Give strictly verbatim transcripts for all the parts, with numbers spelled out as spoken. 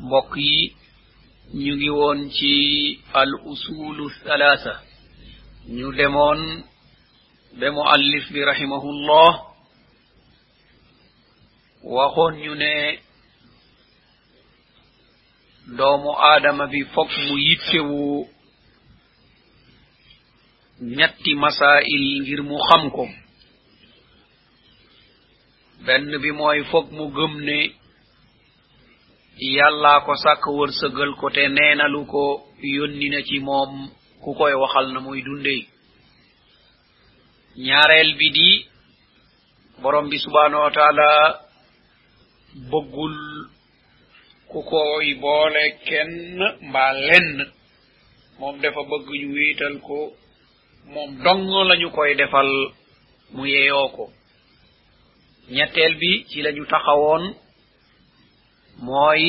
mbokk yi ñu ngi woon ci al usulu thalatha ñu demoon be muallif bi rahimahullah waxoon ñu ne doomu aadama bi fokk mu yittewu ñetti masail ngir mu xam ko benn bi mooy fokk mu gëm ne yàlla ko sàkk wërsëgal ko te neenalu ko yónni na ci moom ku koy waxal na muy dundee ñaareel bi di borom bi subhanahu wa taala bëggul ku koy boole kenn mbaa lenn moom dafa bëgg ñu wéetal ko moom dong lañu koy defal mu yeyoo ko ñetteel bi ci lañu taxawoon mooy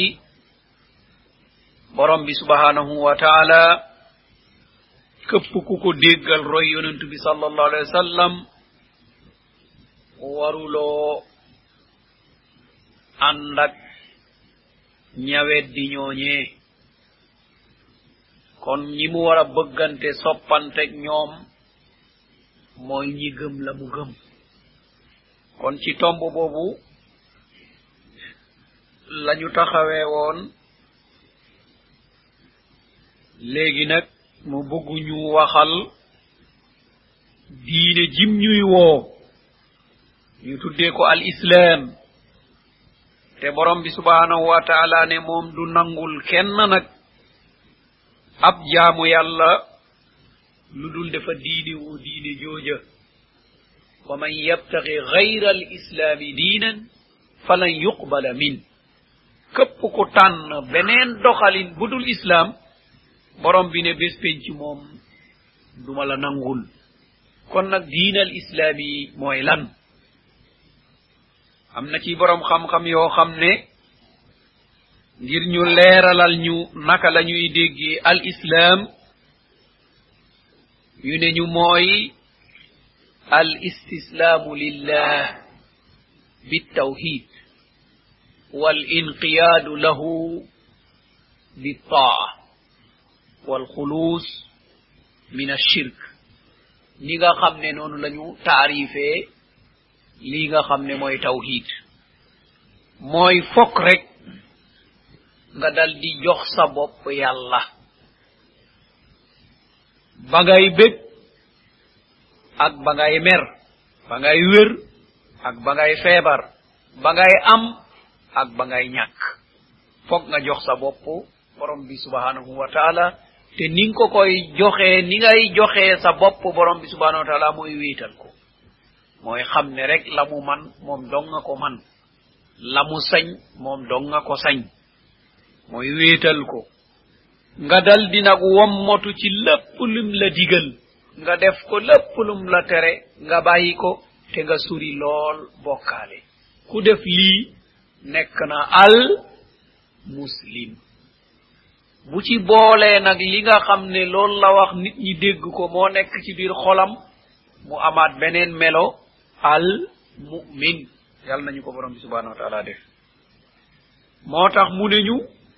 borom bi subhanahu wa taala këpp ku ko déggal roy yonent bi sallallahu alayhi wa sallam waruloo ànd ak ñawet di ñooñee kon ñi mu war a bëggante soppanteg ñoom mooy ñi gëm la mu gëm kon ci tomb boobu lañu taxawee woon léegi nag mu bëgg ñu waxal diine jim ñuy woo ñu tuddee ko al islam te borom bi subhanahu wa ta'ala ne moom du nangul kenn nag ab jaamu yàlla lu dul dafa diine woo diine jooja wa man yabtaghi ghayra al islami diinan falan yuqbala min képp ku tànn beneen doxalin budul islam borom bi ne bés penc moom duma la nangul kon nag diinal islami mooy lan am na ci borom xam-xam yoo xam ne ngir ñu leeralal ñu naka la ñuy déggee al islam yu ne ñu mooy al istislaamu lillah bittawhid wal inqiyaadu lahu bittaa wal xuluus min ashirk ni nga xam ne noonu lañu taarifee lii nga xam ne mooy tawhid mooy fokk rek nga dal di jox sa bopp yàlla ba ngay bég ak ba ngay mer ba ngay wér ak ba ngay feebar ba ngay am ak ba ngay ñàkk fokk nga jox sa bopp borom bi subhanahu wa taala te ni nga ko koy joxee ni ngay joxee sa bopp borom bi subhanahu wa taala mooy wéetal ko mooy xam ne rek la mu man moom dong nga ko man la mu sañ moom dong nga ko sañ mooy wéetal ko nga dal di nag wommotu ci lépp lum la digal nga def ko lépp lum la tere nga bàyyi ko te nga suri lool bokkaale ku def lii nekk na al muslim bu ci boolee nag li nga xam ne loolu la wax nit ñi dégg ko moo nekk ci biir xolam mu amaat beneen melo al mu'min yàlla nañu ko borom bi subhanahu wa ta'ala def moo tax mu ne ñu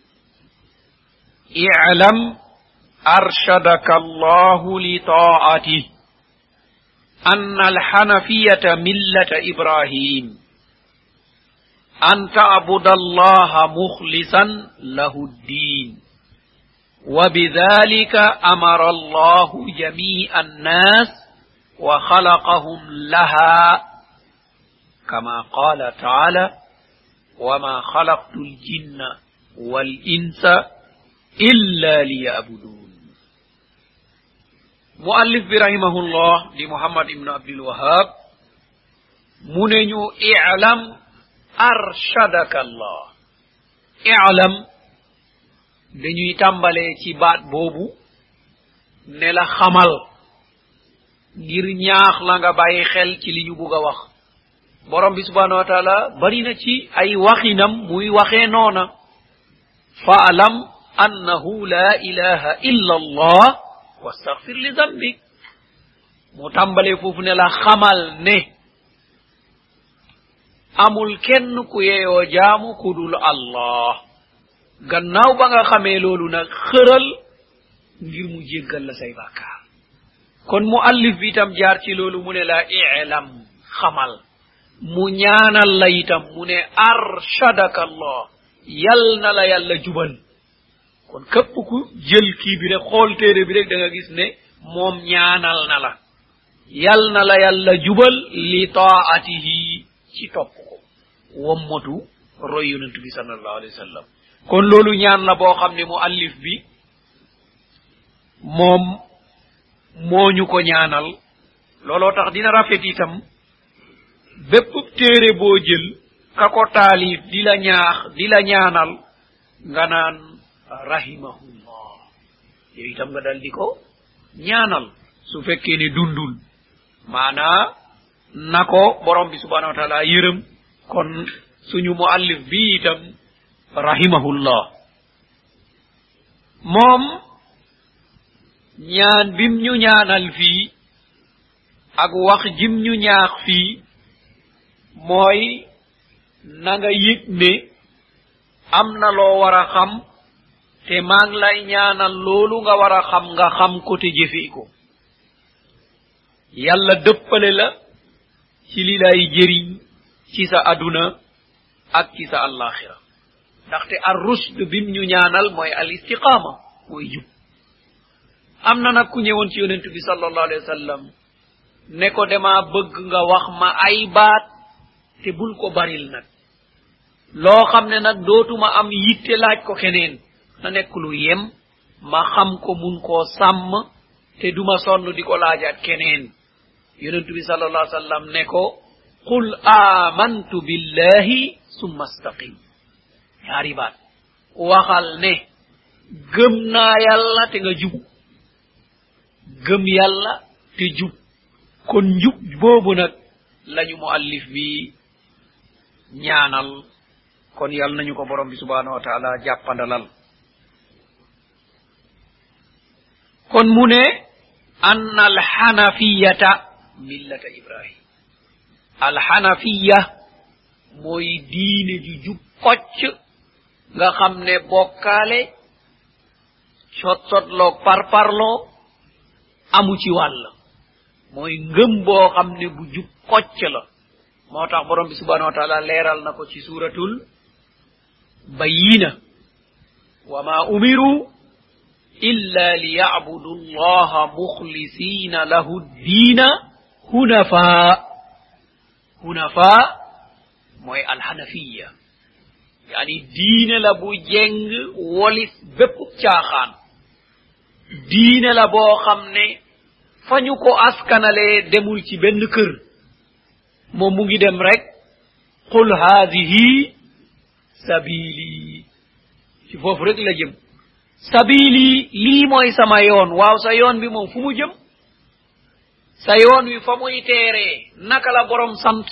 i'lam arshadaka allahu li ta'ati anna alhanafiyata millata ibrahim an ta'buda allaha mukhlisan lahu ad-din wa bidhalika amara allahu jami'a an-nas wa khalaqahum laha kama qala ta'ala wa ma khalaqtul jinna wal insa illa liya'budun muallif bi rahimahullah di muhammad ibn abdul wahhab mu ne ñu i'lam arshadaka allah i'lam dañuy tàmbalee ci baat boobu ne la xamal ngir ñaax la nga bàyyi xel ci li ñu bugg a wax borom bi subhanahu wa ta'ala bari na ci ay waxinam muy waxee noona fa'lam annahu la ilaha illa allah wastaghfir li dhanbik mu tàmbalee foofu ne la xamal ne amul kenn ku yeeyoo jaamu kudul allah gannaaw ba nga xamee loolu nag xëral ngir mu jéggal la say bàkkaar kon mu allif bi itam jaar ci loolu mu ne la i'lam xamal mu ñaanal la itam mu ne arshadaka allah yal na la yàlla jubal kon képp ku jël kii bi rek xool téere bi rek da nga gis ne moom ñaanal na la yal na la yàlla jubal li taatihi ci topp ko wommatu roy yonent bi sallallahu alayhi wa sallam kon loolu ñaan la boo xam ne mu allif bi moom moo ñu ko ñaanal looloo tax dina rafet itam bépp téere boo jël ka ko taalif di la ñaax di la ñaanal nga naan rahimahullah yow itam nga dal di ko ñaanal su fekkee ne dundul maanaa na ko borom bi subhanahu wa taala yërëm kon suñu muallif bi itam rahimahullah moom ñaan bim ñu ñaanal fii ak wax jim ñu ñaax fii mooy na nga yëg ne am na loo war a xam te maa ngi lay ñaanal loolu nga war a xam nga xam ko te jëfee ko yàlla dëppale la ci li lay jëriñ ci sa aduna ak ci sa alaxira ndaxte ar rushd bim ñu ñaanal mooy al istiqama mooy jub am na nag ku ñëwoon ci yonent bi sallallahu alayhi wa sallam ne ko dama bëgg nga wax ma ay baat te bul ko baril nag loo xam ne nag dootuma am yitte laaj ko keneen na nekk lu yem ma xam ko mun koo sàmm te duma sonn di ko laajaat keneen yonent bi sallallahu alayhi wa sallam ne ko qul amantu billahi summa astaqim ñaari baat waxal ne gëm naa yàlla te nga jub gëm yàlla te jub kon njub boobu nag lañu muallif bi ñaanal kon yàlla nañu ko borom bi subhanahu wa ta'ala jàppandalal kon mu ne anna alhanafiyata millata ibrahim alhanafiya mooy diine ju jub kocc nga xam ne bokkaale sotsotloog parparloo amu ci wàll mooy ngëm boo xam ne bu jub kocc la moo tax borom bi subhanahu wa ta'ala leeral na ko ci suratul bayyina wa ma umiru illa liya'budu allaha mukhlisina lahu ad-diina hunafa hunafa mooy alhanafiya yani diine la bu jeng wolis bépp caaxaan diine la boo xam ne fañu ko askanale demul ci benn kër moom mu ngi dem rek qul haadihi sabili ci foofu rek la jëm sabili lii mooy sama yoon waaw sa yoon bi moom fu mu jëm sa yoon wi fa muy teeree naka la borom sant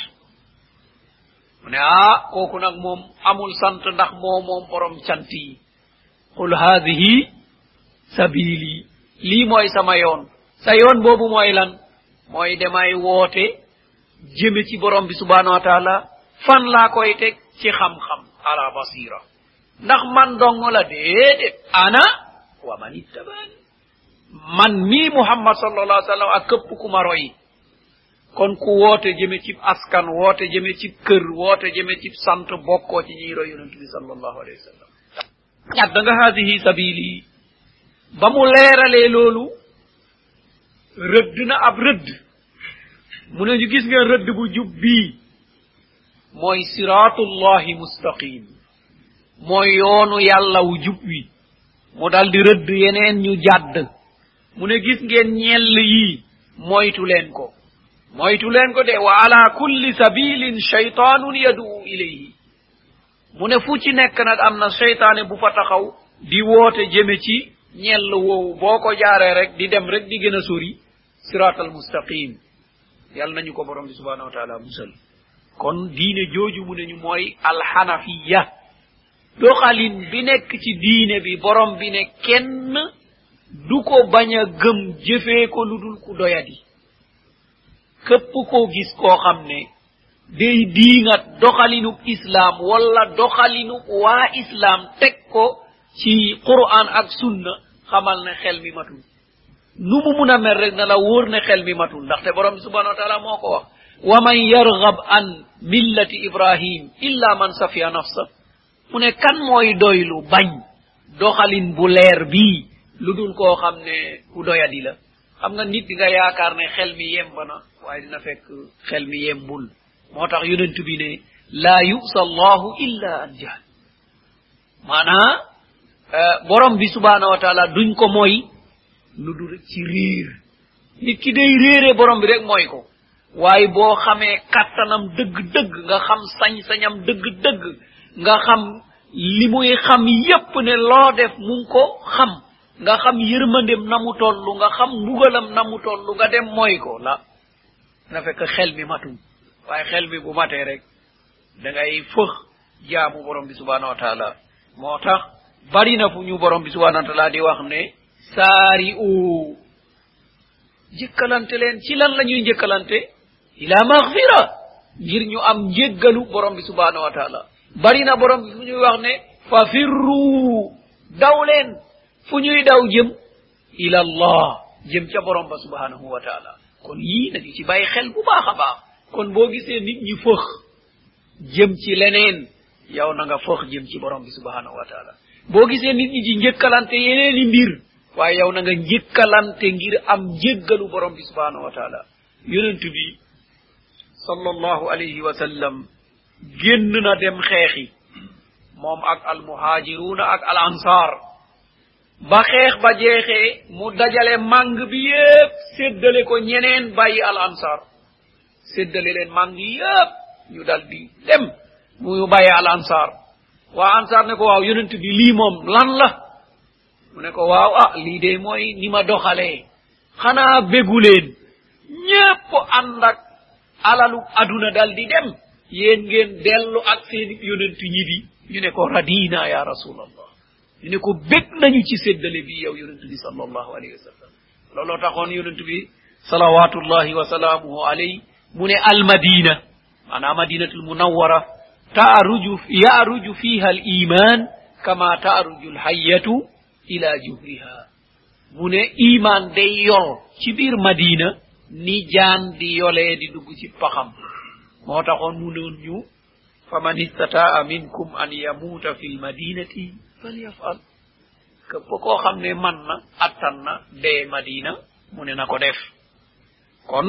mu ne ah kooku nag moom amul sant ndax moo moom borom cant yi qul haadihi sabili lii mooy sama yoon sa yoon boobu mooy lan mooy demay woote jëme ci borom bi subhanahu wa ta'ala fan laa koy teg ci xam-xam ala basira ndax man dong la déedéet ana wa man ittabani man mii muhammad sallallahu alayhi wa sallam ak këpp ku ma roy kon ku woote jëme ci askan woote jëme ci kër woote jëme ci sant bokkoo ci ñiy roy yonent bi sallallahu alayhi wa sallam ñat da nga haadihi sabili ba mu leeralee loolu rëdd na ab rëdd mu ne ñu gis ngeen rëdd bu jub bii mooy siratullahi mustaqim mooy yoonu yàlla wu jub wi mu dal di rëdd yeneen ñu jàdd mu ne gis ngeen ñell yii moytu leen ko moytu leen ko de wa ala kulli sabilin shaytanun yad'u ilayhi mu ne fu ci nekk nag am na seytaane bu fa taxaw di woote jëme ci ñell woowu boo ko jaaree rek di dem rek di gën a sori siratal mustaqim yàlla nañu ko borom bi subhanahu wa ta'ala musal kon diine jooju mu ne ñu mooy alhanafiya doxalin bi nekk ci diine bi borom bi ne kenn du ko bañ a gëm jëfee ko lu dul ku doyadi képp koo gis koo xam ne day diingat doxalinub islam wala doxalinub waa islam teg ko ci Qur'an ak sunna xamal ne xel mi matul nu mu mun a mel rek na la wóor ne xel mi matul ndaxte borom bi subhanahu wa taala moo ko wax wa man yarghab an millati ibrahim illa man safiya nafsa mu ne kan mooy doylu bañ doxalin bu leer bii lu dul koo xam ne ku doyadi la xam nga nit di nga yaakaar ne xel mi yemb na waaye dina fekk xel mi yembul moo tax yonent bi ne laa yusa allahu illa an jahl maanaa borom bi subhanahu wa taala duñ ko mooy lu dul ci riir nit ki day réere borom bi rek mooy ko waaye boo xamee kattanam dëgg-dëgg nga xam sañ-sañam dëgg-dëgg nga xam li muy xam yépp ne loo def mu ngi ko xam nga xam yërmandem na mu tollu nga xam mbugalam na mu tollu nga dem mooy ko la na fekk xel mi matum waaye xel mi bu matee rek da ngay fëx jaamu borom bi subhanahu wa taala moo tax bari na fu ñu borom bi subhanahu wa taala di wax ne saari u jëkkalante leen ci lan la ñuy njëkkalante ila maghfira ngir ñu am njéggalu borom bi subhanahu wa taala bari na borom bi fu ñuy wax ne fa firru daw leen fu ñuy daw jëm ila allah jëm ca borom ba subhanahu wa taala kon yii nañu ci bàyyi xel bu baax a baax kon boo gisee nit ñi fëx jëm ci leneen yow na nga fëx jëm ci borom bi subhanahu wa taala boo gisee nit ñi ci njëkkalante yeneeni mbir waaye yow na nga njëkkalante ngir am njéggalu borom bi subhanahu wa taala yonent bi sallallahu alayhi wa sallam génn na dem xeexi moom ak al muhajiruna ak al ansar ba xeex ba jeexee mu dajale màng bi yépp séddale ko ñeneen bàyyi al ansar séddale leen màng yépp ñu dal di dem mu bàyyi al ansar waa ansar ne ko waaw yonent bi lii moom lan la mu ne ko waaw ah lii de mooy ni ma doxalee xanaa bégu leen ñépp ànd ak alalu aduna dal di dem yéen ngeen dellu ak seen yonent ñi bi ñu ne ko radina ya rasulallah ñu ne ko bég nañu ci séddale bi yow yonent bi sallallahu alayhi wa sallam looloo taxoon yonent bi salawatullahi wa salaamuhu alayhi mu ne al madina maanaam madinatul munawwara taaruju yaaruju fiha al iman kama taaruju al hayyatu ila juhriha mu ne iman day yol ci biir madina ni jaan di yolee di dugg ci paxam moo taxoon mu noon ñu faman istataa minkum an yamuuta fi lmadinati falyafal képp koo xam ne man na attan na dee madina mu ne na ko def kon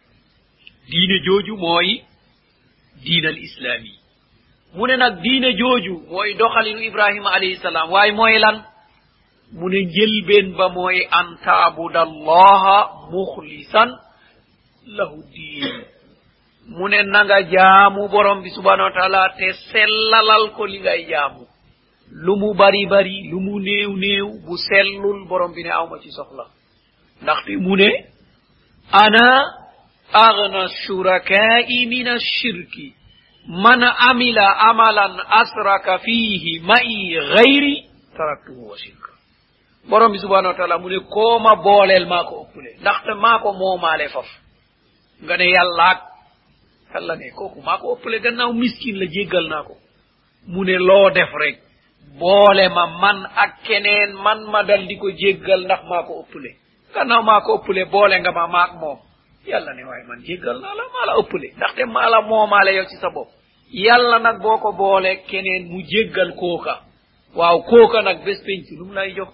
diine jooju mooy diine al islami mu ne nag diine jooju mooy doxalinu ibrahima alayhi salaam waaye mooy lan mu ne njëlbeen ba mooy an taabuda allaha muxlisan lahu diin mu ne nanga jaamu borom bi subhanahu wa taala te sellalal ko li ngay jaamu lu mu bari bari lu mu néew néew bu sellul borom bi ne awma ci soxla ndaxte mu ne ana aghna shuraka'i min ash-shirki man amila amalan asraka fihi ma'i ghayri taraktuhu wa shirka borom bi subhanahu wa taala mu ne kooma booleel maa ko ëppule ndaxte maa ko moomaale faf nga ne yàllaak yàlla ne kooku maa ko ëppale gannaaw miskin la jéggal naa ko mu ne loo def rek boole ma man ak keneen man ma dal di ko jéggal ndax maa ko ëppale gannaaw maa ko ëppale boole nga ma maak moom yàlla ne waaye man jéggal naa la maa la ëppale ndaxte maa la moomaale yow ci sa bopp yàlla nag boo ko boole keneen mu jéggal kooka waaw kooka nag bés penc lu mu lay jox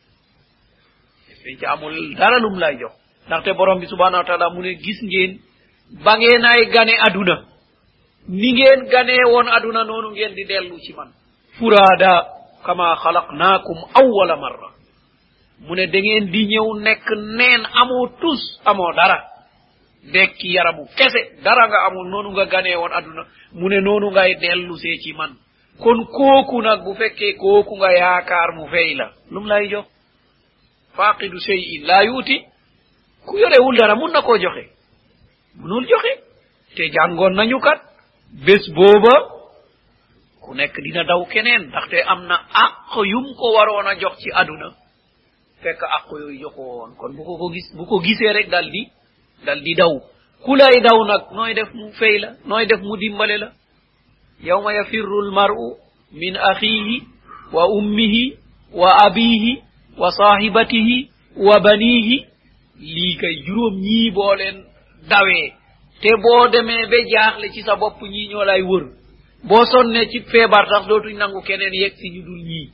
bés penc amul dara lu mu lay jox ndaxte borom bi subhanahu wa taala mu ne gis ngeen ba ngeen ay gane aduna ni ngeen ganee woon aduna noonu ngeen di dellu ci man furaada kama xalaqnaakum awwala marra mu ne da ngeen di ñëw nekk neen amoo tus amoo dara dekki yaramu kese dara nga amul noonu nga ganee woon aduna mu ne noonu ngay dellu see ci man kon kooku nag bu fekkee kooku nga yaakaar mu fay la lum lay jox faqidu shay'in la yuuti ku yorewul dara mun na koo joxe munul joxe te jàngoon nañu kat bés booba ku nekk dina daw keneen ndaxte am na àq yum ko waroon a jox ci aduna fekk àq yooyu joxo woon kon bu ko ko gis bu ko gisee rek dal di dal di daw ku lay daw nag nooy def mu fay la nooy def mu dimbale la yawma yafirru almar'u min akhihi wa ummihi wa abihi wa sahibatihi wa banihi lii kay juróom ñii boo leen dawee te boo demee ba jaaxle ci sa bopp ñii ñoo lay wër boo sonnee ci feebar sax dootuñ nangu keneen yegg si ñu dul ñii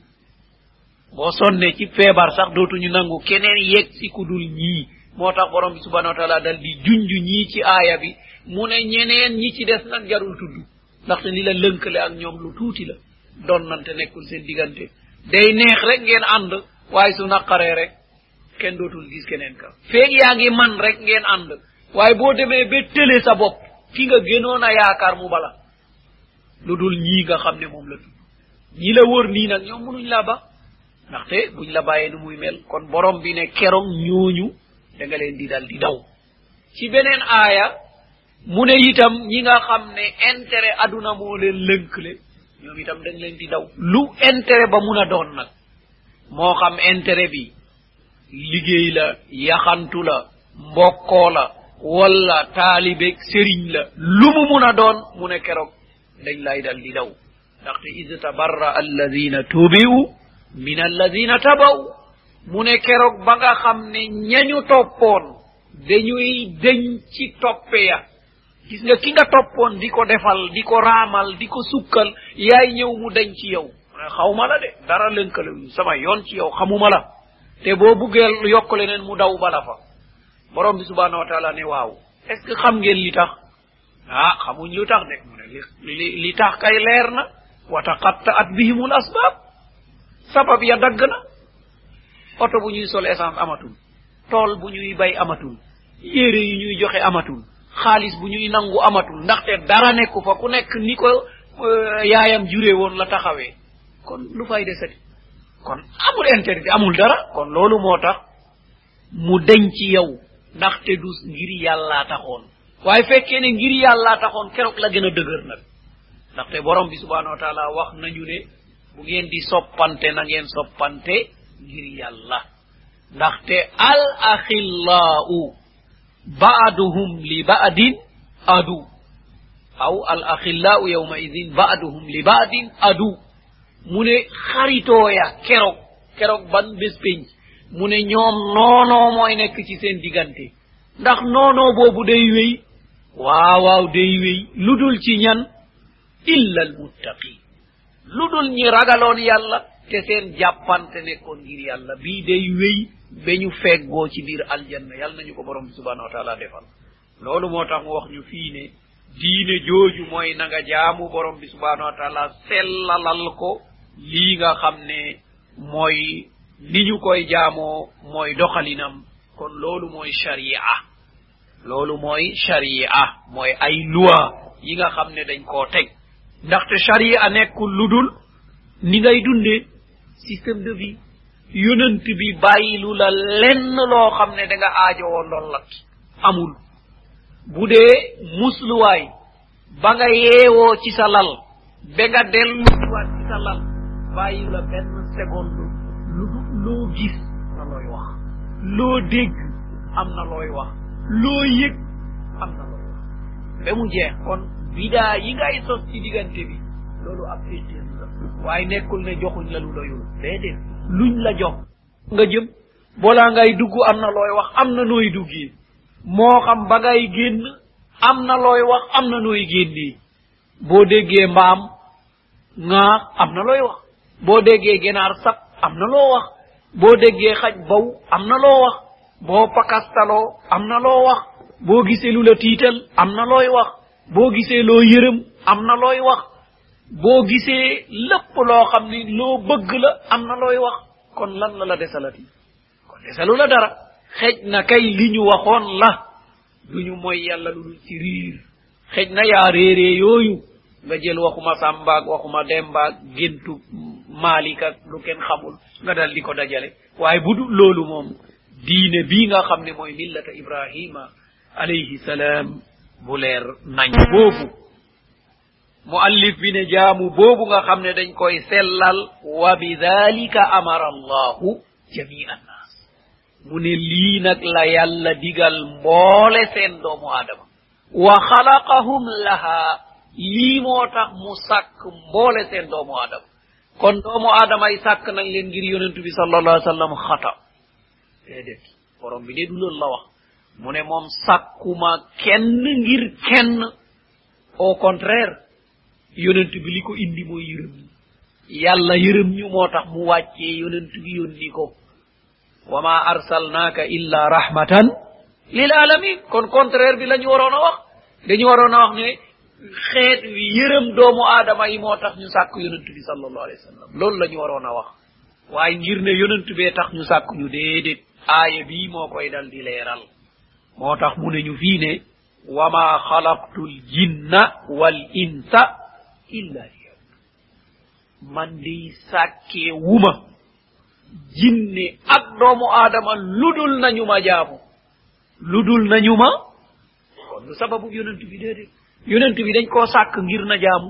boo sonnee ci feebar sax dootuñu nangu keneen yegg si ku dul ñii moo tax borom bi subhanahu wa taala dal di junj ñii ci aaya bi mu ne ñeneen ñi ci des nag jarul tudd ndaxte li la lënkale ak ñoom lu tuuti la doon nante nekkul seen diggante day neex rek ngeen ànd waaye su naqaree rek kenn dootul gis keneen ka feeg yaa ngi man rek ngeen ànd waaye boo demee ba tële sa bopp ki nga gënoon a yaakaar mu bala lu dul ñii nga xam ne moom la tudd ñi la wër nii nag ñoom mënuñ laa ba ndaxte buñ la bàyyee nu muy mel kon borom bi ne keroog ñooñu da nga leen di dal di daw ci beneen aaya mu ne itam ñi nga xam ne intérêt aduna moo leen lënkle ñoom itam dañ leen di daw lu intérêt ba mun a doon nag moo xam intérêt bi liggéey la yaxantu la mbokkoo la wala taalibeeg sëriñ la lu mu mun a doon mu ne keroog dañ lay dal di daw ndaxte id tabarra alladina tubiu min alladina tabaw mu ne keroog ba nga xam ne ñañu toppoon dañuy deñ ci toppe ya gis nga ki nga toppoon di ko defal di ko raamal di ko sukkal yaay ñëw mu deñ ci yow xawma la de dara lënkale sama yoon ci yow xamuma la te boo buggee yokk leneen mu daw bala fa borom bi subhanahu wa taala ne waaw est ce que xam ngeen li tax ah xamuñ lu tax de mu ne li li tax kay leer na wa taqatta'at bihimul asbab sabab ya dagg na oto bu ñuy sol essence amatul tool bu ñuy bay amatul yére yu ñuy joxe amatul xaalis bu ñuy nangu amatul ndaxte dara nekku fa ku nekk ni ko yaayam juree woon la taxawee kon lu fay desati kon amul intérêt amul dara kon loolu moo tax mu deñ ci yow ndaxte du ngir yàllaa taxoon waaye fekkee ne ngir yàllaa taxoon keroog la gën a dëgër nag ndaxte borom bi subhanahu wa taala wax nañu ne bu ngeen di soppante na ngeen soppante ngir yàlla ndaxte al axillaau ba'duhum li ba'din adu aw al axillaau yawma idin ba'duhum li ba'din adu mu ne xaritooya keroog keroog ban bés penc mu ne ñoom noonoo mooy nekk ci seen diggante ndax noonoo boobu day wéy waaw waaw day wéy lu dul ci ñan illa al muttaqin lu dul ñi ragaloon yàlla te seen jàppante nekkoon ngir yàlla bii day wéy ba ñu feggoo ci biir aljanna yàlla nañu ko borom bi subhanahu wa taala defal loolu moo tax mu wax ñu fii ne diine jooju mooy na nga jaamu borom bi subhanahu wa taala sellalal ko lii nga xam ne mooy ni ñu koy jaamoo mooy doxalinam kon loolu mooy sharia loolu mooy sharia mooy ay loi yi nga xam ne dañ koo teg ndaxte sharia nekkul lu dul ni ngay dundee système de vie yonent bi bàyyilu la lenn loo xam ne da nga aajowoo ndollat amul bu dee musluwaay ba nga yeewoo ci sa lal ba nga delluwaat ci sa lal bàyyi la benn seconde lu loo gis na looy wax loo dégg am na looy wax loo yëg am na looy wax ba mu jeex kon bidaa yi ngay sos ci diggante bi loolu ab féetéer la waaye nekkul ne joxuñ la lu doyul déedéet luñ la jox nga jëm boolaa ngay dugg am na looy wax am na nooy duggee moo xam ba ngay génn am na looy wax am na nooy génnee boo déggee mbaam ŋaax am na looy wax boo déggee ginaar sab am na loo wax boo déggee xaj baw am na loo wax boo pakastaloo am na loo wax boo gisee lu la tiital am na looy wax boo gisee loo yërëm am na looy wax boo gisee lépp loo xam ni loo bëgg la am na looy wax kon lan la la desalati kon desalu la dara xej na kay li ñu waxoon la duñu mooy yàlla lu dul ci riir xej na yaa réeree yooyu nga jël waxuma sàmbaag waxuma dembaag géntu maalik ak lu kenn xamul nga dal di ko dajale waaye bu dul loolu moom diine bii nga xam ne mooy millata ibrahima alayhi salaam bu leer nañ boobu muallif bi ne jaamu boobu nga xam ne dañ koy sellal wa bidhalika amara allahu jami'an nas mu ne lii nag la yàlla digal mboole seen doomu aadama wa xalaqahum laha lii moo tax mu sàkk mboole seen doomu aadama kon doomu aadama yi sàkk nañ leen ngir yonent bi sallallahu alayhi wa sallam xata déedéet borom bi de du loolu la wax mu ne moom sàkkuma kenn ngir kenn au contraire yonent bi li ko indi mooy yërëm yàlla yërëm ñu moo tax mu wàccee yonent bi yónni ko wa ma arsalnaaka illa rahmatan lil alamin kon contraire bi la ñu waroon a wax dañu waroon a wax ne xeet wi yërëm doomu aadama yi moo tax ñu sàkk yonent bi sallallahu alayhi wa sallam loolu la ñu waroon a wax waaye ngir ne yonent bee tax ñu sàkk ñu déedéet aaya bii moo koy dal di leeral moo tax mu ne ñu fii ne wa ma xalaqtu l jinna wal insa illa liya'budun man di sàkkee wuma jinne ak doomu aadama ludul nañu ma jaamu ludul nañu ma kon lu sababu yonent bi déedéet yonent bi dañ koo sàkk ngir na jaamu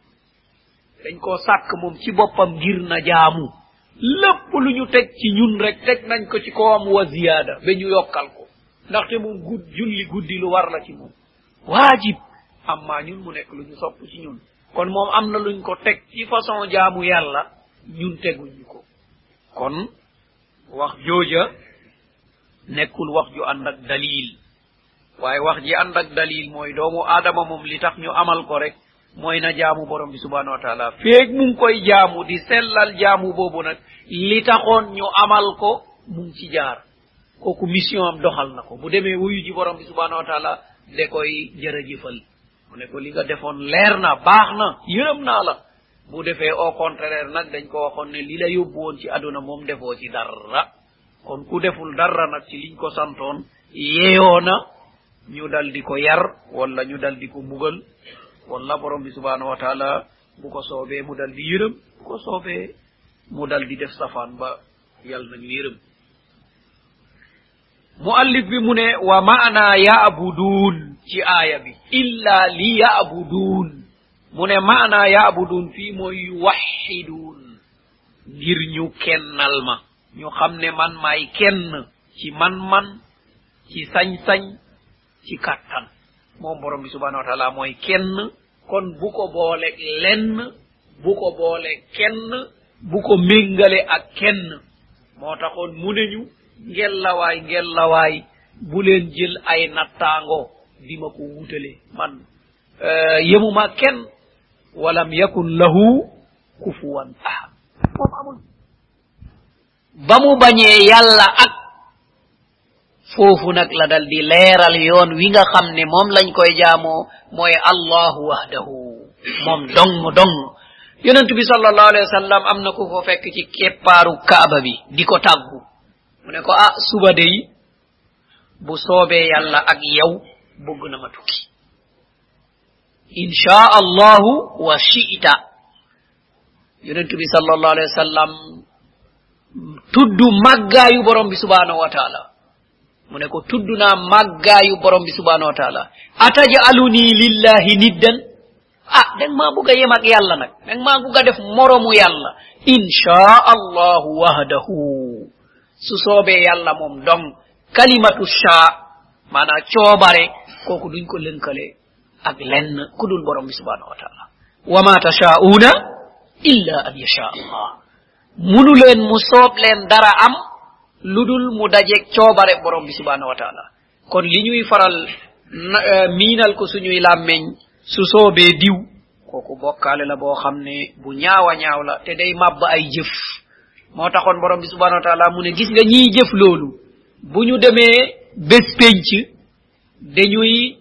dañ koo sàkk moom ci boppam ngir na jaamu lépp lu ñu teg ci ñun rek teg nañ ko ci kawam wa ziyaada ba ñu yokkal ko ndaxte moom gud julli guddi lu war la ci moom waajib amma ñun mu nekk lu ñu sopp ci ñun kon moom am na luñ ko teg ci façon jaamu yàlla ñun teguñu ko kon wax jooja nekkul wax ju ànd ak dalil waaye wax ji ànd ak dalil mooy doomu aadama moom li tax ñu amal ko rek mooy na jaamu borom bi subhanahu wa taala feeg mu ngi koy jaamu di sellal jaamu boobu nag li taxoon ñu amal ko mu ngi ci jaar kooku mission am doxal na ko bu demee wuyu ji borom bi subhanahu wa taala de koy jërëjëfal mu ne ko li nga defoon leer na baax na yërëm naa la bu defee au contraire nag dañ ko waxoon ne li la yóbbu woon ci aduna moom defoo ci dara kon ku deful dara nag ci liñ ko santoon yeeyoo na ñu dal di ko yar wala ñu dal di ko mbugal wala borom bi subhanahu wa taala bu ko soobee mu dal di yërëm bu ko soobee mu dal di def safaan ba yàlla nañu yërëm muallif bi mu ne wa maana ya'budun ci aaya bi illa li ya'budun mu ne maana ya'budun fii mooy yuwahidun ngir ñu kennal ma ñu xam ne man maay kenn ci man-man ci sañ-sañ ci kàttan moom borom bi subhanahu wa taala mooy kenn kon bu ko boole lenn bu ko boole kenn bu ko méngale ak kenn moo taxoon mu ne ñu ngellawaay ngellawaay bu leen jël ay nattaango di ma ko wutale man yemuma kenn walam yakun lahu kufuwan ahad moom amul ba mu bañee yàlla ak foofu nag la dal di leeral yoon wi nga xam ne moom lañ koy jaamoo mooy allahu wahdahu moom dong dong yonent bi sallallahu alayhi wa sallam am na ku ko fekk ci keppaaru kaaba bi di ko tàggu mu ne ko ah suba day bu soobee yàlla ak yow bëgg na ma tukki insha allahu wa shi'ta yonent bi sallallahu alayhi wa sallam tuddu màggaayu borom bi subhanahu wa taala mu ne ko tudd naa màggaayu borom bi subhanahu wa taala atajaluni lillahi niddan ah dang maa bugg a yem ak yàlla nag dang maa bugg a def moromu yàlla insha allahu wahdahu su soobee yàlla moom dong kalimatu sha maanaa coobare kooku duñ ko lënkale ak lenn ku dul borom bi subhanahu wa taala wa ma tashaa'una illa an yasha allah munu leen mu soob leen dara am ludul mu dajeeg coobare borom bi subhanahu wa taala kon li ñuy faral miinal ko suñuy làmmeñ su soobee diw kooku bokkaale la boo xam ne bu ñaawa ñaaw la te day màbb ay jëf moo taxoon borom bi subhanahu wa taala mu ne gis nga ñiy jëf loolu bu ñu demee bés penc dañuy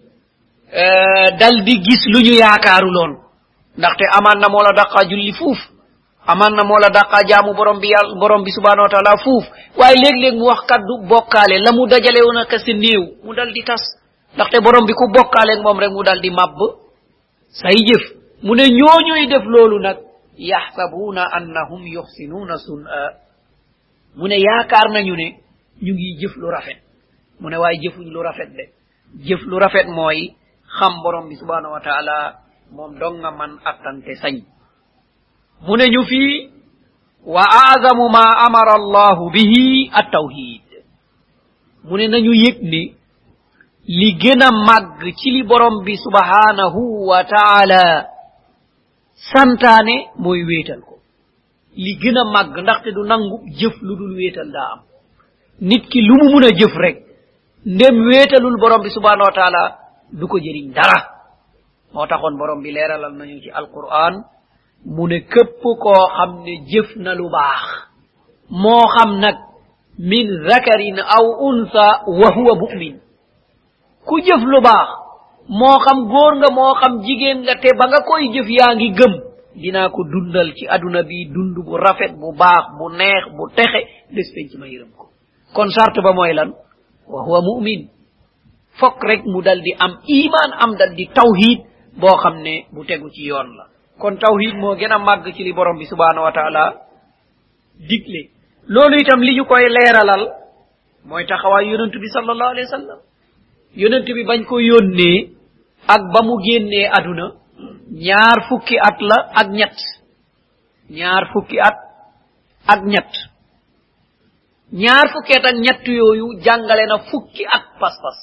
dal di gis lu ñu yaakaaru loon ndaxte amaan na moo la daqaa julli fuuf amaan na moo la daqaa jaamu borom bi yàlla borom bi subhanahu wa taala fuuf waaye léeg-léeg mu wax kaddu bokkaale la mu dajale woon ak si néew mu dal di tas ndaxte borom bi ku bokkaaleeg moom rek mu dal di màbb say jëf mu ne ñooñuy def loolu nag yaxsabuuna annahum yuxsinuuna sun'a mu ne yaakaar nañu ne ñu ngi jëf lu rafet mu ne waaye jëfuñ lu rafet de jëf lu rafet mooy xam borom bi subhanahu wa taala moom dong nga man attante sañ mu ne ñu fii wa a'zamu ma amara allahu bihi at-tawhid mu ne nañu yëg ni li gën a màgg ci li borom bi subhanahu wa taala santaane mooy wéetal ko li gëna mag ndaxte du nangu jëf lu dul wéetal daa am nit ki lu mu mun a jëf rek ndem wéetalul borom bi subhanahu wa taala du ko jëriñ dara moo taxoon borom bi leeralal nañu ci alquran mu ne képp koo xam ne jëf na lu baax moo xam nag min zakarin aw unsa wa huwa mu'min ku jëf lu baax moo xam góor nga moo xam jigéen nga te ba nga koy jëf yaa ngi gëm dinaa ko dundal ci aduna bi dund bu rafet bu baax bu neex bu texe des penc ma yërëm ko kon charte ba mooy lan wa huwa mu'min fokk rek mu dal di am iman am dal di tawhid boo xam ne bu tegu ci yoon la kon tawhid moo gën a màgg ci li borom bi subhanahu wa taala digle loolu itam li ñu koy leeralal mooy taxawaay yonent bi sallallahu alayhi wa sallam yonent bi bañ ko yónnee ak ba mu génnee aduna ñaar fukki at la ak ñett ñaar fukki at ak ñett ñaar fukki at ak ñett yooyu jàngale na fukki at pas-pas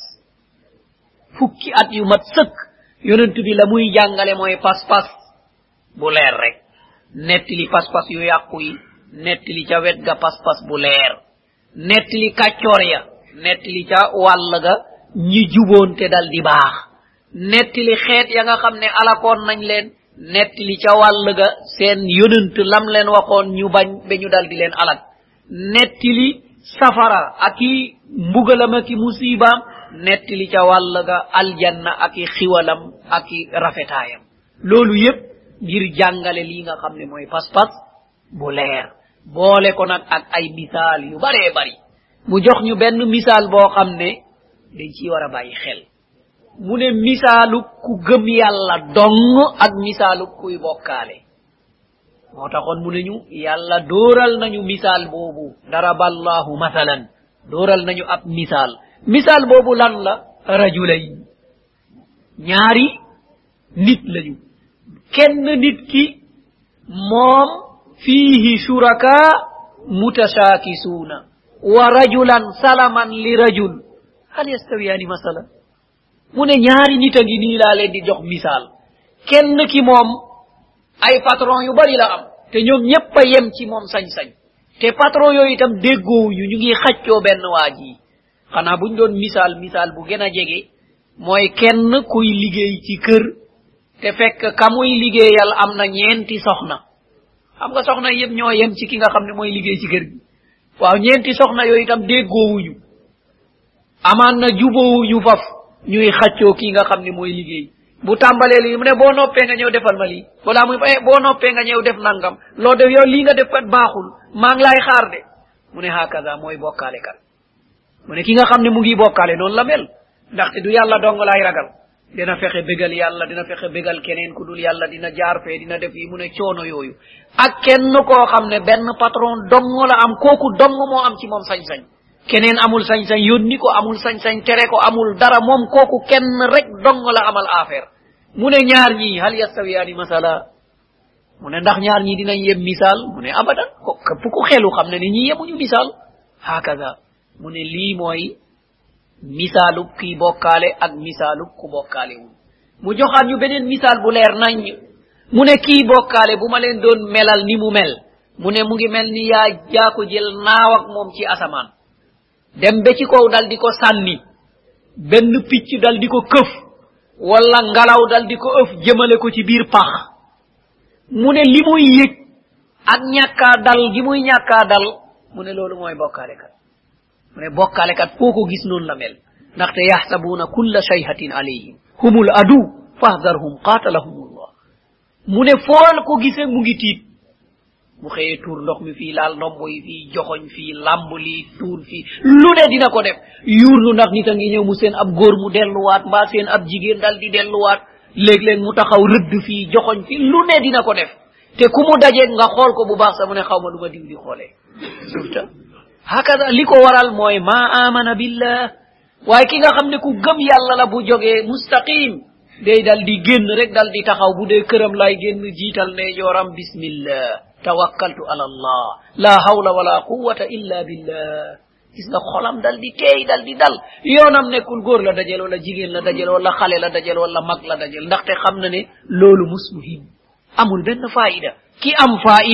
fukki at yu mat sëkk yonent bi la muy jàngale mooy pas-pas bu leer rek nettili pas-pas yu yàqu yi nettili ca wet ga pas-pas bu leer nettili kàccoor ya nettili ca wàll ga ñi juboon te dal di baax nettili xeet ya nga xam ne alakoon nañ leen nettili ca wàll ga seen yonent lam leen waxoon ñu bañ ba ñu dal di leen alak nettili safara ak i mbugalam ak i musibaam nettili ca wàll ga aljanna ak i xiwalam ak i rafetaayam loolu yépp ngir jàngale lii nga xam ne mooy pas-pas bu leer boole ko nag ak ay misaal yu baree bari mu jox ñu benn misaal boo xam ne dañ ci war a bàyyi xel mu ne misaalu ku gëm yàlla dong ak misaalu kuy bokkaale moo taxoon mu ne ñu yàlla dooral nañu misaal boobu daraballahu masalan dooral nañu ab misaal misaal boobu lan la rajulayn ñaari nit lañu kenn nit ki moom fiihi shuraka mutashaakisuuna wa rajulan salaman li rajul hal yastawiyaani masala mu ne ñaari nit a ngi nii laa leen di jox misaal kenn ki moom ay patron yu bari la am te ñoom ñépp a yem ci moom sañ-sañ te patron yooyu itam déggoowuñu ñu ngi xaccoo benn waa ji xanaa buñ doon misaal misaal bu gën a jege mooy kenn kuy liggéey ci kër te fekk ka muy liggéeyal am na ñeenti soxna xam nga soxna yëpp ñoo yem ci ki nga xam ne mooy liggéey ci kër gi waaw ñeenti soxna yooyu itam déggoowuñu amaan na jubóowuñu faf ñuy xaccoo ki nga xam ne mooy liggéey bu tàmbalee lii mu ne boo noppee nga ñëw defal ma lii wala muy eh boo noppee nga ñëw def nangam loo def yow lii nga def kat baaxul maa ngi laay xaar de mu ne hakaza mooy bokkaale kat mu ne ki nga xam ne mu ngi bokkaale noonu la mel ndaxte du yàlla dong laay ragal dina fexe bégal yàlla dina fexe bégal keneen ku dul yàlla dina jaar fee dina def yi mu ne coono yooyu ak kenn koo xam ne benn patron dong la am kooku dong moo am ci moom sañ-sañ keneen amul sañ-sañ yónni ko amul sañ-sañ tere ko amul dara moom kooku kenn rek dong la amal affaire mu ne ñaar ñii hal yastawiyaani masala mu ne ndax ñaar ñii dinañ yem misaal mu ne abadan ko képp ku xelu xam ne ni ñi yemuñu misaal hakaza mu ne lii mooy misaalu kii bokkaale ak misaalu ku bokkaale wul mu joxaat ñu beneen misaal bu leer nañ mu ne kii bokkaale bu ma leen doon melal ni mu mel mu ne mu ngi mel ni yaa jaa ko jël naaw ak moom ci asamaan dem ba ci kaw dal di ko sànni benn picc dal di ko këf wala ngalaw dal di ko ëf jëmale ko ci biir pax mu ne li muy yëg ak ñàkkaa dal gi muy ñàkkaa dal mu ne loolu mooy bokkaale kat mu ne bokkaale kat foo ko gis noonu la mel ndaxte yaxsabuuna kulla shayhatin alayhim humul adu fahdarhum qatalahumullah mu ne fool ko gisee mu ngi tiit bu xëyee tuur ndox mi fii laal ndombo yi fii joxoñ fii lamb lii tuur fii lu ne dina ko def yuurlu ndax nit a ngi ñëw mu seen ab góor mu delluwaat mbaa seen ab jigéen dal di delluwaat léeg-léeg mu taxaw rëdd fii joxoñ fii lu ne dina ko def te ku mu dajeeg nga xool ko bu baax sa mu ne xaw ma lu ma diw di xoolee surtout hakaza li ko waral mooy ma amana billah waaye ki nga xam ne ku gëm yàlla la bu jógee mustaqim day dal di génn rek dal di taxaw bu dee këram lay génn jiital ne yoram bismillah tawakkaltu ala allah la hawla wala quwwata illa billah gis nga xolam dal di teey dal di dal yoonam nekkul góor la dajel wala jigéen la dajel wala xale la dajel wala mag la dajel ndaxte xam na ne loolu musmuhim amul benn faida ki am faida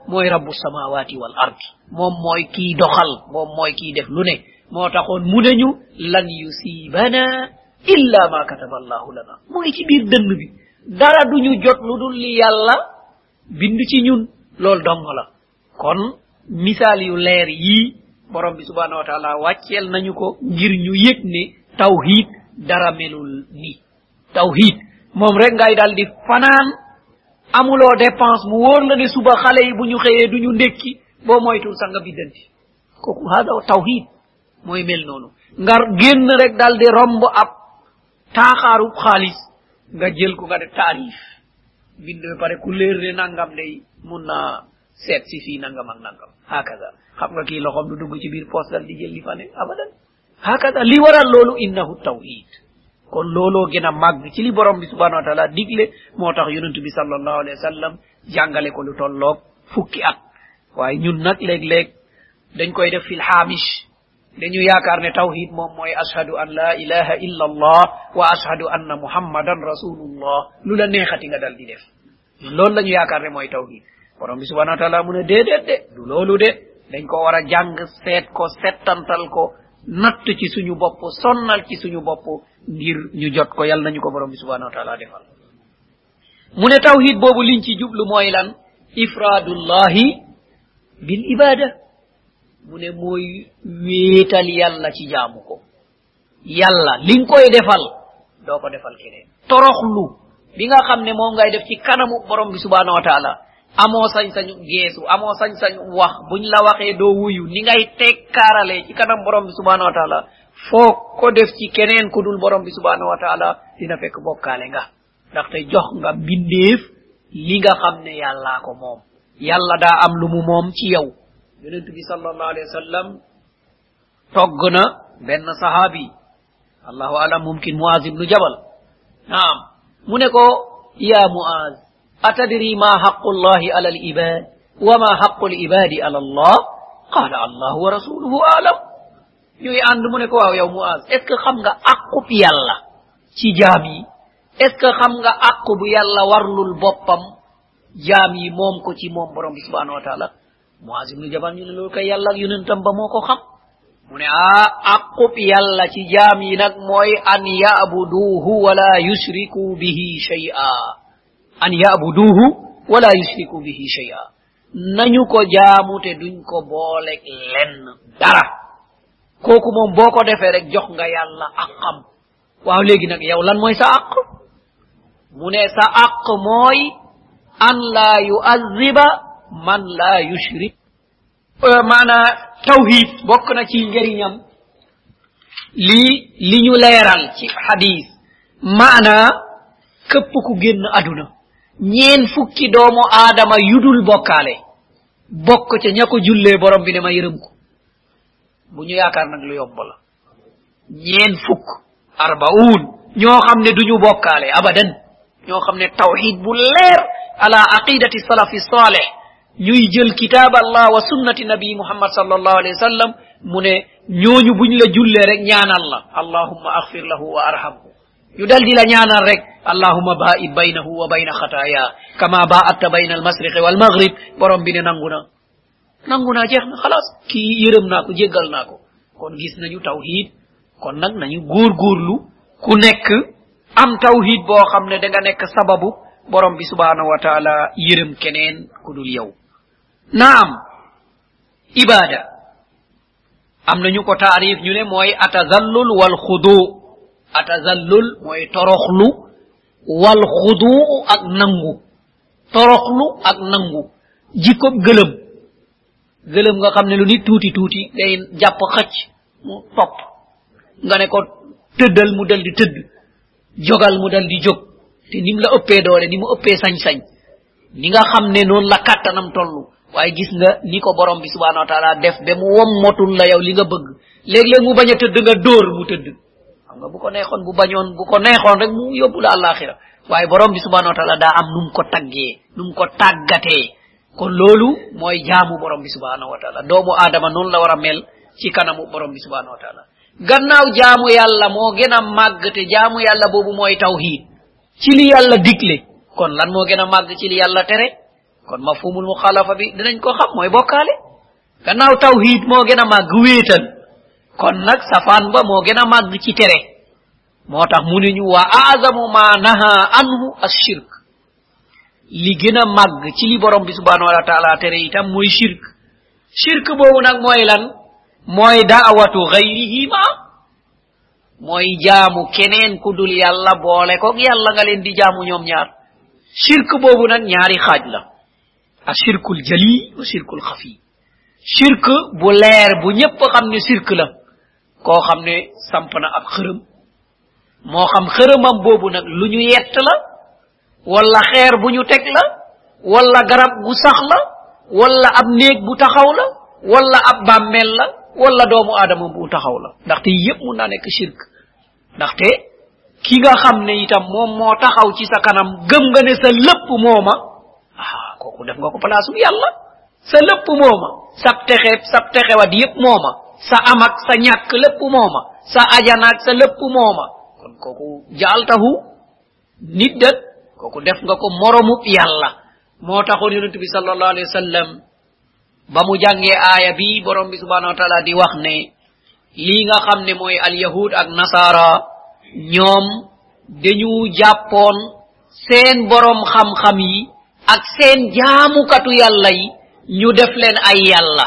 moy rabbus samawati wal ard mom moy ki doxal mom moy ki def lu ne mo taxone mu neñu lan yusibana illa ma kataba allah lana moy ci bir deun bi dara duñu jot ludul li yalla bind ci ñun lol dong la kon misal yu leer yi borom bi subhanahu wa ta'ala waccel nañu ko ngir ñu yek ne tawhid dara melul ni tawhid mom rek ngay daldi fanan amulo dépense mu wor la ne suba xalé yi buñu xeyé duñu ndekki bo moytul sa nga bidanti koku hada tawhid moy mel nonu ngar genn rek daldi rombo ab taxaru xaliss nga jël ko nga def tarif bind pare ku leer ne nangam day munna set ci fi nangam ak nangam hakaza xam nga ki loxom du dugg ci bir poste dal di jël li fa ne abadan hakaza li waral lolu innahu tawhid kon lolo gëna mag ci li borom bi subhanahu wa ta'ala digle motax yonent bi sallallahu alayhi wasallam jangale ko lu tollok fukki at waye ñun nak leg leg dañ koy def fil hamish dañu yaakar ne tawhid mom moy ashhadu an la ilaha illa allah wa ashhadu anna muhammadan rasulullah lu la neexati nga dal di def loolu lañu yaakar ne moy tawhid borom bi subhanahu wa ta'ala mu ne dedet de du lolu de dañ ko wara jang set ko setantal ko natt ci suñu bop sonnal ci suñu bop ngir ñu jot ko yalla nañu ko borom bi subhanahu wa ta'ala defal mu ne tawhid bobu liñ ci jublu moy lan ifradullahi bil ibada mu ne moy wétal yalla ci jaamu ko yalla liñ koy defal do ko defal keneen toroxlu bi nga xamne mo ngay def ci kanamu borom bi subhanahu wa ta'ala amo sañ sañu geesu amo sañ sañu wax buñ la waxe do wuyu ni ngay tekkarale ci kanam borom bi subhanahu wa ta'ala fo ko def ci keneen ku dul borom bi subhanahu wa ta'ala dina fekk bokale nga ndax tay jox nga bindeef li nga xamne yalla ko mom yalla da am lu mu mom ci yow yonent bi sallallahu alayhi wasallam toggna ben sahabi Allahu alam mumkin Muaz ibn Jabal naam mune ko ya Muaz atadri ma haqqullahi ala al-ibad wa ma haqqul ibadi ala Allah qala Allah wa rasuluhu a'lam ñuy and mune ko waaw yow Muaz est ce xam nga aqup yalla ci jami est ce xam nga aqu bu yalla warlul bopam jami mom ko ci mom borom subhanahu wa ta'ala Muaz ibn Jabal ñu ne loolu kay yalla ak yonentam ba moko xam mu ne ah aqup yalla ci jami nak moy an ya'buduhu wa la yushriku bihi shay'a an ya'buduhu wa la yushriku bihi shay'a nañu ko jaamu te duñ ko boole lenn dara koku mom boko defé rek jox nga yalla akam waaw legi nak yow lan moy sa ak mu ne sa ak moy an la yu'azziba man la yushrik mana tawhid bok na ci njariñam li li ñu leral ci hadith mana kepp ku genn aduna ñeen fukki doomu adama yudul bokale bok ci ñako julle borom bi ne ma yërem ko bu ñu yaakar nak lu yomb la ñeen fukk arbaun ño xamne duñu bokale abadan ño xamne tawhid bu leer ala aqidati salafi salih ñuy jël kitab Allah wa sunnati nabi Muhammad sallallahu alayhi wasallam mune ñoñu buñ la julle rek ñaanal la allahumma aghfir lahu wa arhamhu ñu dal di la ñaanal rek allahumma ba'id bainahu wa bain khataaya kama ba'atta bain al-mashriq wal maghrib borom bi ne nanguna nanguna jeexna xalaas ki yërem nako jéggal nako kon gis nañu tawhid kon nak nañu gor gorlu ku nek am tawhid bo xamne da nga nek sababu borom bi subhanahu wa ta'ala yërem keneen ku dul yow naam ibada am nañu ko taarif ñu ne moy atazallul wal khudu atazallul moy toroxlu wal khudu ak nangu toroxlu ak nangu jikko gëlem gëlem nga xamne lu nit tuti tuti day japp xacc mu top nga ne ko teddal mu dal di tedd jogal mu dal di jog te nim la uppé doole ni mu uppé sañ sañ ni nga xamne non la katanam tollu waye gis nga ni ko borom bi subhanahu wa ta'ala def be mu wom motul la yow li nga bëgg leg leg mu baña teud nga door mu teud xam nga bu ko neexon bu bañon bu ko neexon rek mu yobbu la alakhirah waye borom bi subhanahu wa ta'ala da am num ko tagge num ko tagaté kon lolu moy jaamu borom bi subhanahu wa ta'ala doomu adama non la wara mel ci kanamu borom bi subhanahu wa ta'ala gannaaw jaamu yalla mo gëna mag te jaamu yalla bobu moy tawhid ci li yalla diglé kon lan mo gëna mag ci li yalla téré kon mafhumul mukhalafa bi dinañ ko xam moy bokale gannaaw tawhid mo gëna mag wéetal kon nak safan ba mo gëna mag ci tere motax mu ñu wa azamu ma naha anhu ash-shirk li gëna mag ci li borom bi subhanahu wa ta'ala tere itam moy shirk shirk bobu nak moy lan moy da'watu ghayrihi ma moy jaamu keneen ku dul yalla boole ko yalla nga leen di jaamu ñom ñaar shirk bobu nak ñaari xaj la ashirkul jali wa shirkul khafi shirk bu leer bu ñepp xamni shirk la ko xamne samp na ab xërem mo xam xëremam bobu nak luñu yett la wala xeer buñu tek la wala garab gu sax la wala ab neeg bu taxaw la wala ab bammel la wala doomu adama bu taxaw la ndaxte yépp mu na nek shirk ndaxte ki nga xamne itam mom mo taxaw ci sa kanam gëm nga ne sa lepp moma ah koku def nga ko place yalla sa lepp moma sa texe sa texe wa yépp moma sa amak sa ñak lepp moma sa ajanak sa lepp moma kon koku jaaltahu nit dat koku def nga ko moromu yalla mo taxone yonent bi sallallahu alayhi wasallam ba mu jange aya bi borom bi subhanahu wa ta'ala di wax ne li nga xamne moy al yahud ak nasara ñom dañu jappon seen borom xam xam yi ak seen jaamukatu yalla yi ñu def len ay yalla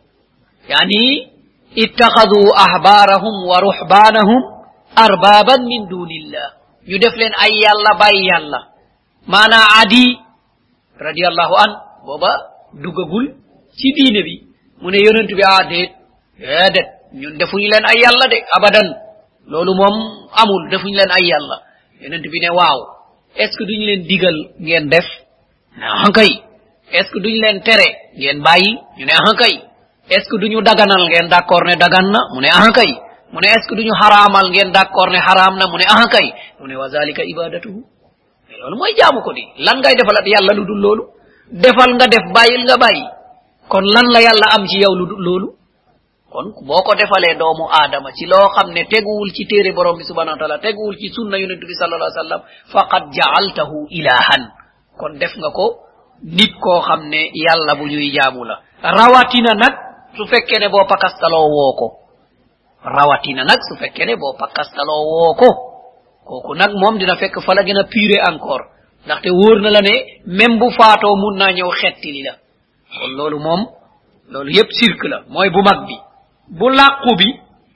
yani ittakhadhu ahbarahum wa ruhbanahum arbaban min dunillah ñu def len ay yalla bay yalla mana adi radiyallahu an boba dugagul ci diine bi mu ne yonent bi adet dedet ñun defuñu len ay yalla de abadan lolu mom amul defuñu len ay yalla yonent bi ne waaw est ce que duñu len digal ngeen def na hankay est ce que duñu len téré ngeen bayyi ñu ne hankay est ce que duñu daganal ngeen d'accord ne dagan na mu ne hankay mu ne est ce que duñu haramal ngeen d'accord ne haram na mu ne hankay mu ne wa zalika ibadatuhu lolu moy jaamu ko di lan ngay defalat yalla lu dul lolu defal nga def bayil nga bayyi kon lan la yalla am ci yow lu dul lolu kon boko defale doomu adama ci lo xamne teguwul ci téré borom bi subhanahu wa ta'ala teguwul ci sunna yunus bi sallallahu alayhi wasallam faqad ja'altahu ilahan kon def nga ko nit ko xamne yalla bu ñuy jaamu la rawatina nak su fekke ne bo pakastalo woko rawatina nak su fekke ne bo pakastalo woko koku nak mom dina fekk fa la gëna puré encore ndax te woor na la ne même bu faato mun na ñew xetti li la kon lolu mom lolu yépp cirque la moy bu mag bi bu laqku bi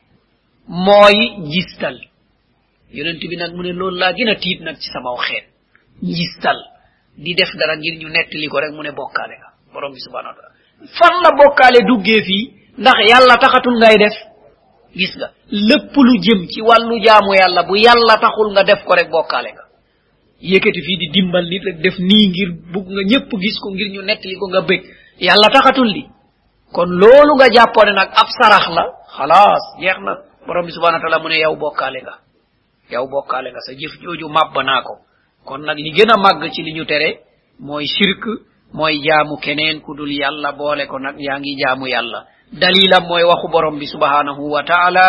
moy gistal yonent bi nak mu ne lolu la gëna tiit nak ci sama xeet gistal di def dara ngir ñu netti ko rek mu ne bokale nga borom bi subhanahu wa ta'ala fan la bokale duggé fi ndax yalla taxatul ngay def gis nga lepp lu jëm ci walu jaamu yalla bu yalla taxul nga def ko rek bokale nga yekati fi di dimbal nit rek def ni ngir bug nga ñepp gis ko ngir ñu netti ko nga bëgg yalla taxatul di kon lolu nga jappone nak ab sarax la khalas jeexna borom bi subhanahu wa ta'ala mu ne yow bokale nga yow bokale nga sa jëf joju mabba ko kon nak li gëna mag ci li ñu téré moy shirk moy jaamu keneen ku dul yalla boole ko nak yaangi jaamu yalla dalila moy waxu borom bi subhanahu wa ta'ala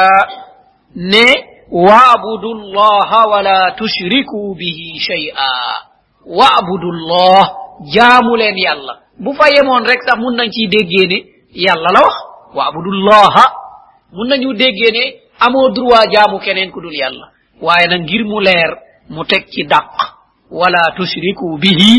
ne wa'budullaha wa la tushriku bihi shay'a wa'budullah jaamu len yalla bu fa yemon rek sax mun nañ ci déggé ne yalla la wax wa'budullaha mun nañu déggé ne amo droit jaamu keneen ku dul yalla waye nak ngir mu leer mu tek ci dak wala tushriku bihi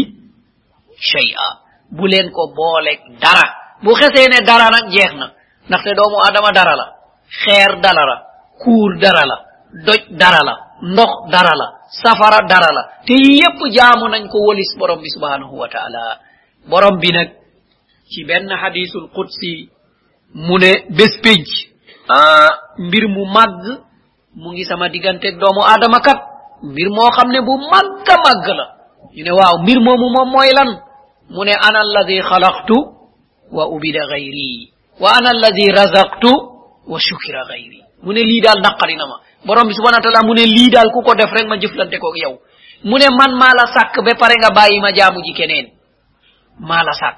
shay'a bu len ko bolek dara bu xese ne dara nak jeexna ndax te doomu adama dara la xeer dara la kuur dara la doj dara la ndox dara la safara dara la te yépp jaamu nañ ko wolis borom bi subhanahu wa ta'ala borom bi nak ci ben hadithul qudsi mu ne bes penc ah mbir mu mag mu ngi sama digante doomu adama kat mbir mo xamne bu magga mag la ñu ne waaw mbir momu mom moy lan mu ne ana alladhi khalaqtu wa ubida ghayri wa ana alladhi razaqtu wa shukira ghayri mu ne li dal nakari na ma borom bi subhanahu wa ta'ala mu ne li dal ku ko def rek ma jëflante ko ak yow mu ne man mala sak be pare nga bayyi ma jaamu ji keneen mala sak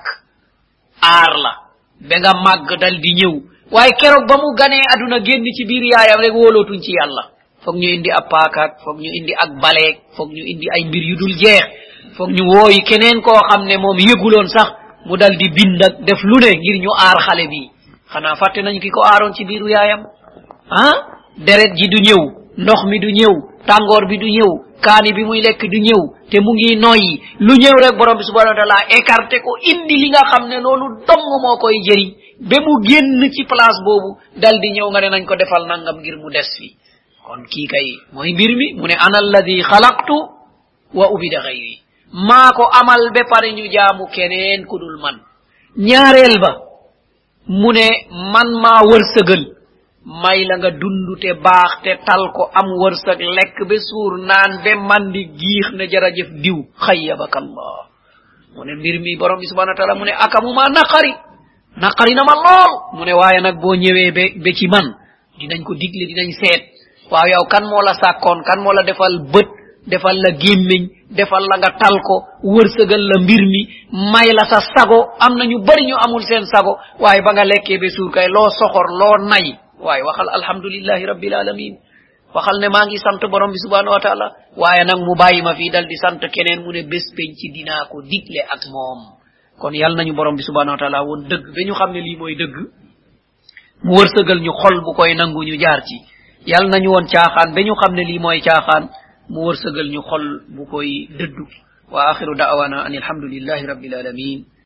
ar la be nga mag dal di ñew waye kérok ba mu gané aduna genn ci biir yaayam rek wolotuñ ci yalla fokk ñu indi ab paakaak fokk ñu indi ak baleek fokk ñu indi ay mbir yu dul jeex foog ñu wooyi keneen koo xam ne moom yëguloon sax mu dal di bind ak def lu ne ngir ñu aar xale bi xanaa fàtte nañ ki ko aaroon ci biiru yaayam ah deret ji du ñëw ndox mi du ñëw tàngoor bi du ñëw kaani bi muy lekk du ñëw te mu ngi noyyi lu ñëw rek borom bi subhanahu wa taala écarté ko indi li nga xam ne loolu dong moo koy jëriñ ba mu génn ci place boobu dal di ñëw nga ne nañ ko defal nangam ngir mu des fi kon kii kay mooy mbir mi mu ne ana alladi xalaqtu wa ubida xayri maa ko amal ba pare ñu jaamu keneen ku dul man ñaareel ba mu ne man maa wërsëgal may la nga dund te baax te tal ko am wërsëg lekk ba suur naan ba mandi giix ne jërëjëf diw xayyabaka allah mu ne mbir mi borom bi subhanahu wa taala mu ne akamuma naqari naqari na ma lool mu ne waaye nag boo ñëwee ba ba ci man dinañ ko digle dinañ seet waaw yow kan moo la sàkkoon kan moo la defal bët defal la gémmiñ defal la nga tal ko wërsëgal la mbir mi may la sa sago am na ñu bari ñu amul seen sago waaye ba nga lekkee ba suur kay loo soxor loo nay waaye waxal alhamdulillahi rabbil alamin waxal ne maa ngi sant borom bi subhanahu wa taala waaye nag mu bàyyi ma fii dal di sant keneen mu ne bés penc ci dinaa ko digle ak moom kon yal nañu borom bi subhanahu wa taala woon dëgg ba ñu xam ne lii mooy dëgg mu wërsëgal ñu xol bu koy nangu ñu jaar ci yal nañu woon caaxaan ba ñu xam ne lii mooy caaxaan mu wërsëgal ñu xol bu koy dëddu wa akhiru da'wana anil hamdulillahi rabbil alamin